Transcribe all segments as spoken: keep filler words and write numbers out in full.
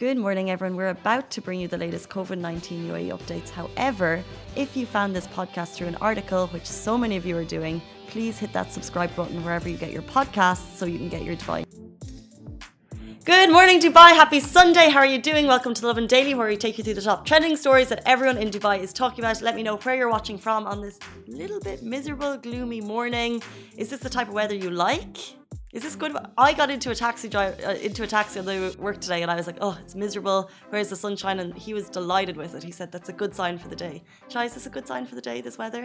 Good morning, everyone. We're about to bring you the latest COVID nineteen U A E updates. However, if you found this podcast through an article, which so many of you are doing, please hit that subscribe button wherever you get your podcasts so you can get your Dubai. Good morning, Dubai. Happy Sunday. How are you doing? Welcome to Lovin Daily, where we take you through the top trending stories that everyone in Dubai is talking about. Let me know where you're watching from on this little bit miserable, gloomy morning. Is this the type of weather you like? Is this good? I got into a taxi drive uh, into a taxi on the work today, and I was like, "Oh, it's miserable. Where's the sunshine?" And he was delighted with it. He said, "That's a good sign for the day." Shai, is this a good sign for the day? This weather?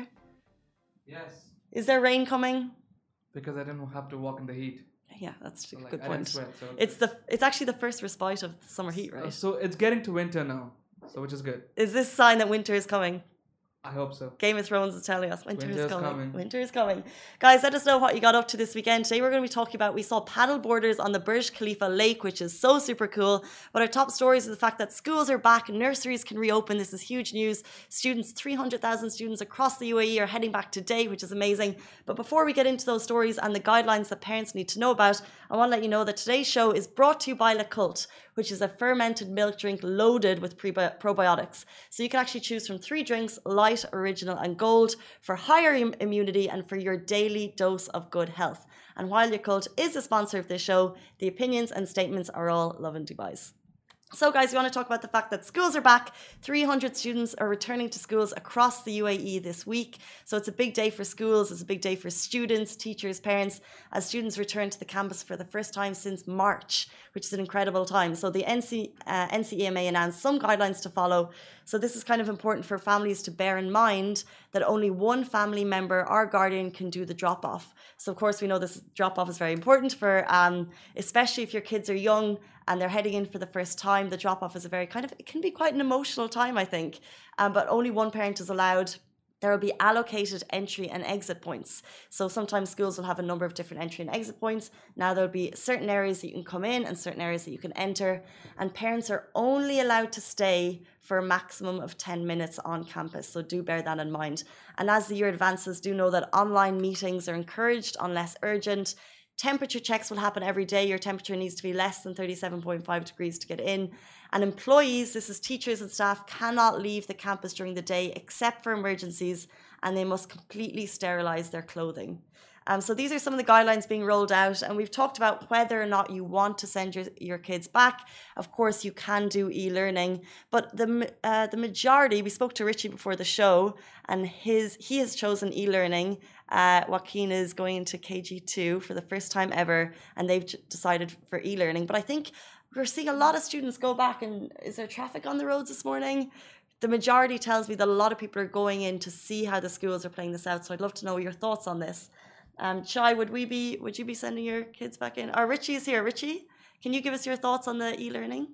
Yes. Is there rain coming? Because I didn't have to walk in the heat. Yeah, that's So, a like, good I didn't point. sweat, so It's the it's actually the first respite of the summer heat, Uh, right? so it's getting to winter now, so which is good. Is this sign that winter is coming? I hope so. Game of Thrones is telling us winter, Winter is is coming. coming. Winter is coming. Guys, let us know what you got up to this weekend. Today we're going to be talking about, we saw paddle boarders on the Burj Khalifa lake, which is so super cool. But our top stories is the fact that schools are back, nurseries can reopen. This is huge news. Students, three hundred thousand students across the U A E are heading back today, which is amazing. But before we get into those stories and the guidelines that parents need to know about, I want to let you know that today's show is brought to you by Le Cult, which is a fermented milk drink loaded with prebi- probiotics. So you can actually choose from three drinks, light, original and gold, for higher im- immunity and for your daily dose of good health. And while Le Cult is the sponsor of this show, the opinions and statements are all Lovin Dubai's. So guys, we want to talk about the fact that schools are back. three hundred students are returning to schools across the U A E this week. So it's a big day for schools, it's a big day for students, teachers, parents, as students return to the campus for the first time since March, which is an incredible time. So the N C, uh, N C E M A announced some guidelines to follow. So this is kind of important for families to bear in mind that only one family member or guardian can do the drop-off. So of course we know this drop-off is very important for, um, especially if your kids are young and they're heading in for the first time. The drop-off is a very kind of, it can be quite an emotional time, I think. Um, but only one parent is allowed. There will be allocated entry and exit points. So sometimes schools will have a number of different entry and exit points. Now there'll be certain areas that you can come in and certain areas that you can enter. And parents are only allowed to stay for a maximum of ten minutes on campus. So do bear that in mind. And as the year advances, do know that online meetings are encouraged unless urgent. Temperature checks will happen every day. Your temperature needs to be less than thirty-seven point five degrees to get in. And employees, this is teachers and staff, cannot leave the campus during the day except for emergencies, and they must completely sterilize their clothing. Um, so these are some of the guidelines being rolled out, and we've talked about whether or not you want to send your, your kids back. Of course, you can do e-learning, but the uh, the majority, we spoke to Richie before the show, and his he has chosen e-learning. Uh, Joaquin is going into K G two for the first time ever, and they've decided for e-learning. But I think we're seeing a lot of students go back, and is there traffic on the roads this morning? The majority tells me that a lot of people are going in to see how the schools are playing this out. So I'd love to know your thoughts on this. Um, Shai, would we be? Would you be sending your kids back in? Oh, Richie is here. Richie, can you give us your thoughts on the e-learning?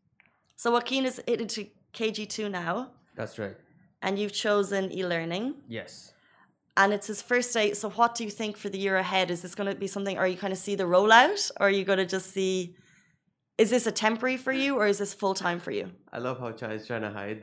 So Joaquin is into K G two now. That's right. And you've chosen e-learning. Yes. And it's his first day. So what do you think for the year ahead? Is this going to be something, or you kind of see the rollout? Or are you going to just see, is this a temporary for you, or is this full-time for you? I love how Chai is trying to hide.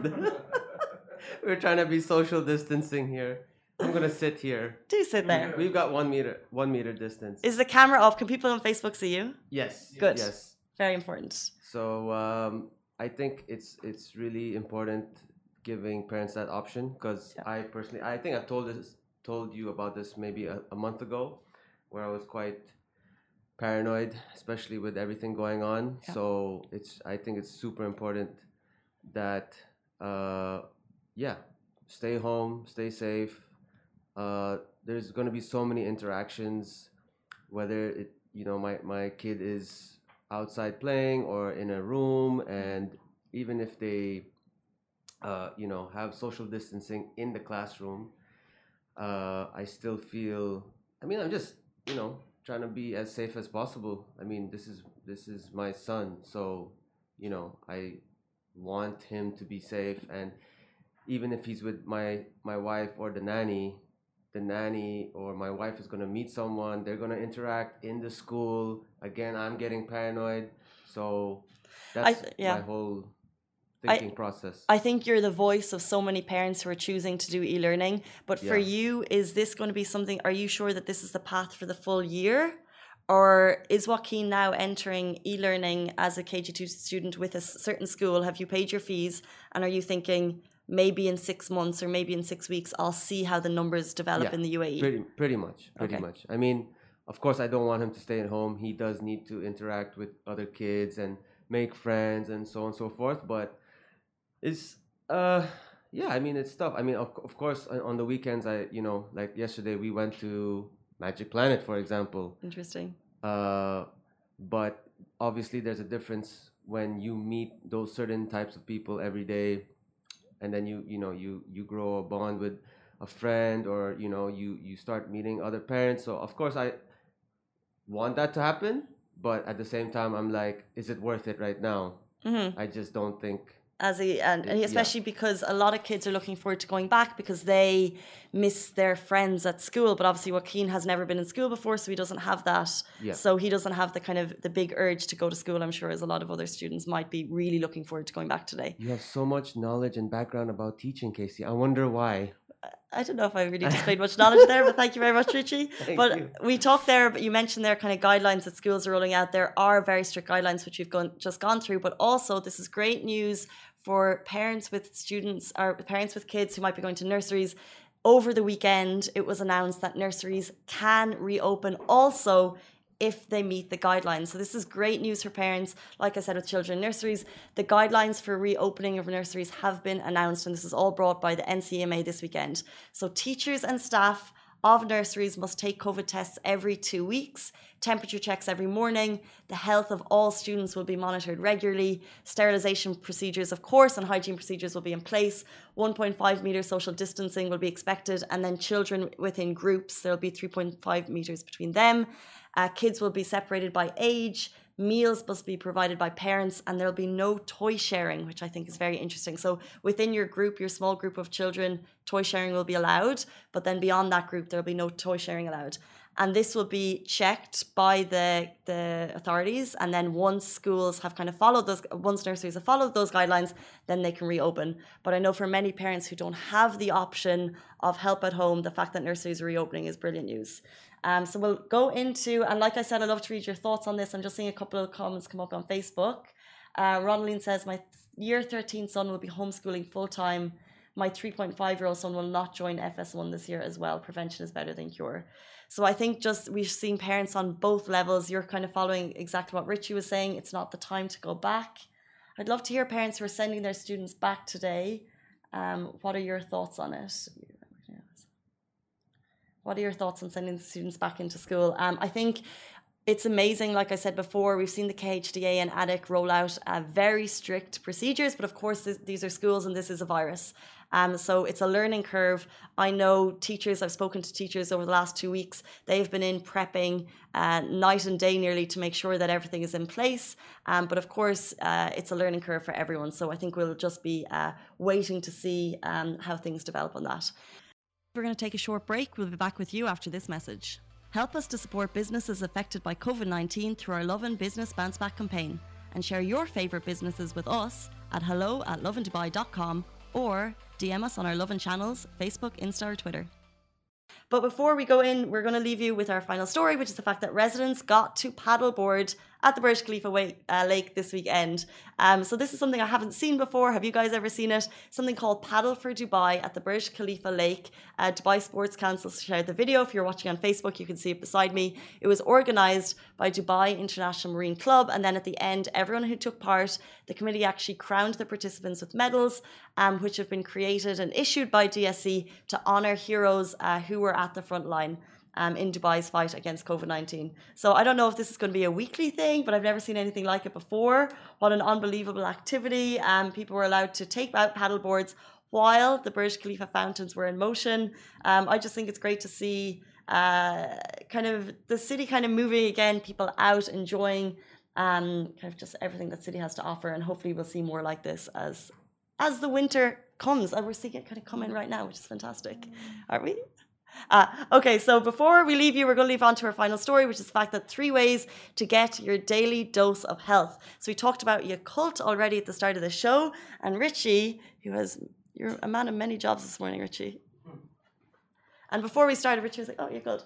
We're trying to be social distancing here. I'm going to sit here. Do sit there. We've got one meter, one meter distance. Is the camera up? Can people on Facebook see you? Yes. Good. Yes. Very important. So um, I think it's it's really important giving parents that option, because Yeah. I personally, I think I've told this, told you about this maybe a, a month ago, where I was quite paranoid, especially with everything going on. Yeah. So it's, I think it's super important that, uh, yeah, stay home, stay safe. Uh, there's going to be so many interactions, whether it, you know, my, my kid is outside playing or in a room, and even if they, uh, you know, have social distancing in the classroom, uh, I still feel, I mean, I'm just, you know, trying to be as safe as possible. I mean, this is, this is my son, so, you know, I want him to be safe. And even if he's with my, my wife or the nanny, the nanny or my wife is going to meet someone, they're going to interact in the school. Again, I'm getting paranoid. So that's th- yeah. my whole thinking I, process. I think you're the voice of so many parents who are choosing to do e-learning. But for Yeah. you, is this going to be something, are you sure that this is the path for the full year? Or is Joaquin now entering e-learning as a K G two student with a certain school? Have you paid your fees? And are you thinking maybe in six months or maybe in six weeks, I'll see how the numbers develop Yeah, in the U A E? Pretty, pretty much, pretty Okay. much. I mean, of course, I don't want him to stay at home. He does need to interact with other kids and make friends and so on and so forth. But it's, uh, yeah, I mean, it's tough. I mean, of, of course, on on the weekends, I, you know, like yesterday, we went to Magic Planet, for example. Interesting. Uh, but obviously, there's a difference when you meet those certain types of people every day, and then you, you know, you you grow a bond with a friend, or you know, you you start meeting other parents. So of course, I want that to happen, but at the same time, I'm like, is it worth it right now? Mm-hmm. I just don't think. As a, and, and Yeah. especially because a lot of kids are looking forward to going back because they miss their friends at school. But obviously, Joaquin has never been in school before, so he doesn't have that. Yeah. So he doesn't have the kind of the big urge to go to school. I'm sure as a lot of other students might be really looking forward to going back today. You have so much knowledge and background about teaching, Casey. I wonder why. I don't know if I really displayed much knowledge there, but thank you very much, Richie. Thank but you. we talked there, but you mentioned there kind of guidelines that schools are rolling out. There are very strict guidelines which we've gone, just gone through, but also this is great news for parents with students or parents with kids who might be going to nurseries. Over the weekend, it was announced that nurseries can reopen also if they meet the guidelines. So this is great news for parents. Like I said, with children in nurseries, the guidelines for reopening of nurseries have been announced, and this is all brought by the N C M A this weekend. So teachers and staff of nurseries must take COVID tests every two weeks, temperature checks every morning. The health of all students will be monitored regularly. Sterilisation procedures, of course, and hygiene procedures will be in place. one point five metre social distancing will be expected. And then children within groups, there'll be three point five metres between them. Uh, kids will be separated by age. Meals must be provided by parents, and there'll be no toy sharing, which I think is very interesting. So within your group, your small group of children, toy sharing will be allowed, but then beyond that group, there'll be no toy sharing allowed. And this will be checked by the, the authorities. And then once schools have kind of followed those, once nurseries have followed those guidelines, then they can reopen. But I know for many parents who don't have the option of help at home, the fact that nurseries are reopening is brilliant news. Um, so we'll go into, and like I said, I'd love to read your thoughts on this. I'm just seeing a couple of comments come up on Facebook. Uh, Ronaline says, my year thirteen son will be homeschooling full-time. My three point five year old son will not join F S one this year as well. Prevention is better than cure. So I think just we've seen parents on both levels. You're kind of following exactly what Richie was saying. It's not the time to go back. I'd love to hear parents who are sending their students back today. Um, what are your thoughts on it? What are your thoughts on sending the students back into school? Um, I think it's amazing. Like I said before, we've seen the K H D A and A D C roll out uh, very strict procedures, but of course this, these are schools and this is a virus. Um, so it's a learning curve. I know teachers, I've spoken to teachers over the last two weeks, they've been in prepping uh, night and day nearly to make sure that everything is in place. Um, but of course, uh, it's a learning curve for everyone. So I think we'll just be uh, waiting to see um, how things develop on that. We're going to take a short break. We'll be back with you after this message. Help us to support businesses affected by COVID nineteen through our Love and Business Bounce Back campaign, and share your favourite businesses with us at hello at loveanddubai dot com or D M us on our Love and channels, Facebook, Insta or Twitter. But before we go in, we're going to leave you with our final story, which is the fact that residents got to paddleboard at the Burj Khalifa way, uh, lake this weekend. Um, so this is something I haven't seen before. Have you guys ever seen it? Something called Paddle for Dubai at the Burj Khalifa lake. Uh, Dubai Sports Council shared the video. If you're watching on Facebook, you can see it beside me. It was organised by Dubai International Marine Club. And then at the end, everyone who took part, the committee actually crowned the participants with medals, um, which have been created and issued by D S C to honour heroes uh, who were at the front line Um, in Dubai's fight against COVID nineteen. So I don't know if this is going to be a weekly thing, but I've never seen anything like it before. What an unbelievable activity. Um, people were allowed to take out paddleboards while the Burj Khalifa fountains were in motion. Um, I just think it's great to see uh, kind of the city kind of moving again, people out enjoying um, kind of just everything that city has to offer. And hopefully we'll see more like this as as the winter comes. And we're seeing it kind of come in right now, which is fantastic. Aren't we? Uh, okay, so before we leave you, we're going to leave on to our final story, which is the fact that three ways to get your daily dose of health. So we talked about Yakult already at the start of the show, and Richie, who has, you're a man of many jobs this morning, Richie. And before we started, Richie was like, oh, Yakult.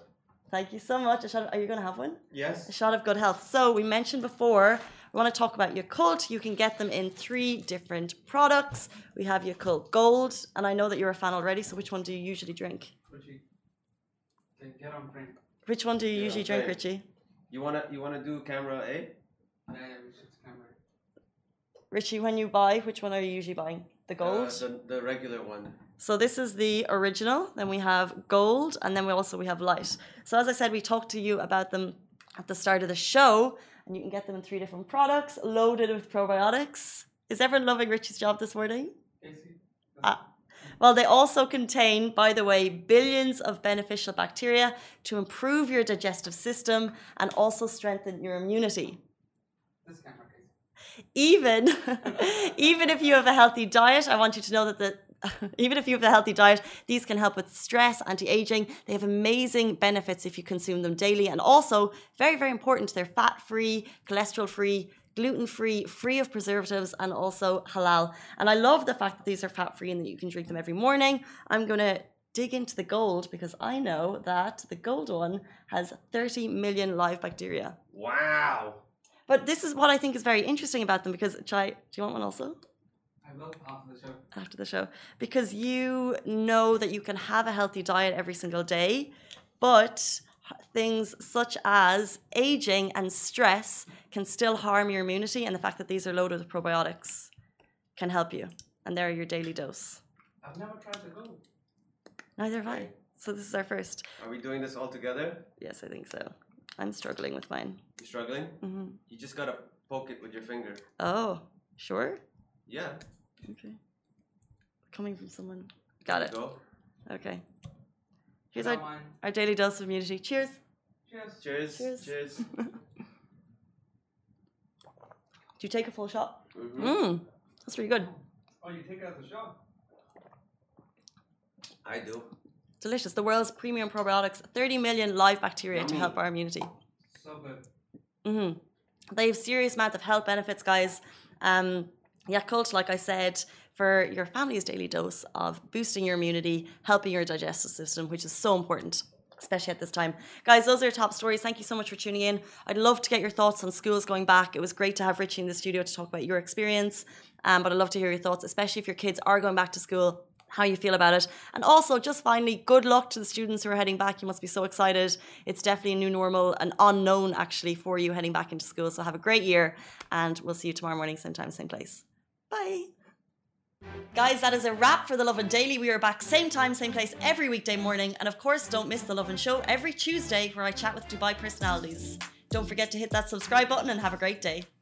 Thank you so much. A shot of, are you going to have one? Yes. A shot of good health. So we mentioned before, we want to talk about Yakult. You can get them in three different products. We have Yakult Gold, and I know that you're a fan already, so which one do you usually drink? Richie. Okay, get on drink. Which one do you Yeah, usually drink, okay. Richie? You wanna you wanna do camera A? Yeah, yeah, we should camera. Richie, when you buy, which one are you usually buying? The gold? Uh, the the regular one. So this is the original, then we have gold, and then we also we have light. So as I said, we talked to you about them at the start of the show, and you can get them in three different products, loaded with probiotics. Is everyone loving Richie's job this morning? Casey. Ah. Well, they also contain, by the way, billions of beneficial bacteria to improve your digestive system and also strengthen your immunity. This camera, Casey. Even, even if you have a healthy diet, I want you to know that the even if you have a healthy diet, these can help with stress, anti-aging. They have amazing benefits if you consume them daily. And also, very, very important, they're fat-free, cholesterol-free, gluten-free, free of preservatives, and also halal. And I love the fact that these are fat-free and that you can drink them every morning. I'm going to dig into the gold because I know that the gold one has thirty million live bacteria. Wow. But this is what I think is very interesting about them because, Chai, do you want one also? I will after the show. After the show. Because you know that you can have a healthy diet every single day, but things such as aging and stress can still harm your immunity, and the fact that these are loaded with probiotics can help you. And they're your daily dose. I've never tried the gold. Neither have I. So this is our first. Are we doing this all together? Yes, I think so. I'm struggling with mine. You struggling? Mm-hmm. You just gotta poke it with your finger. Oh, sure? Yeah. Okay. Coming from someone. Got There it. you Go. Okay. Here's Not our, mine. our daily dose of immunity. Cheers. Cheers. Cheers. Cheers. Cheers. Do you take a full shot? Mm-hmm. Mmm. That's really good. Oh, you take it out the shop? I do. Delicious. The world's premium probiotics, thirty million live bacteria to Yummy. help our immunity. So good. Mm-hmm. They have serious amount of health benefits, guys. Um, Yakult, like I said, for your family's daily dose of boosting your immunity, helping your digestive system, which is so important, especially at this time. Guys, those are your top stories. Thank you so much for tuning in. I'd love to get your thoughts on schools going back. It was great to have Richie in the studio to talk about your experience, um, but I'd love to hear your thoughts, especially if your kids are going back to school, how you feel about it. And also, just finally, good luck to the students who are heading back. You must be so excited. It's definitely a new normal, an unknown actually for you heading back into school. So have a great year, and we'll see you tomorrow morning, same time, same place. Bye. Guys, that is a wrap for The Lovin Daily. We are back same time, same place every weekday morning. And of course, don't miss The Lovin Show every Tuesday where I chat with Dubai personalities. Don't forget to hit that subscribe button and have a great day.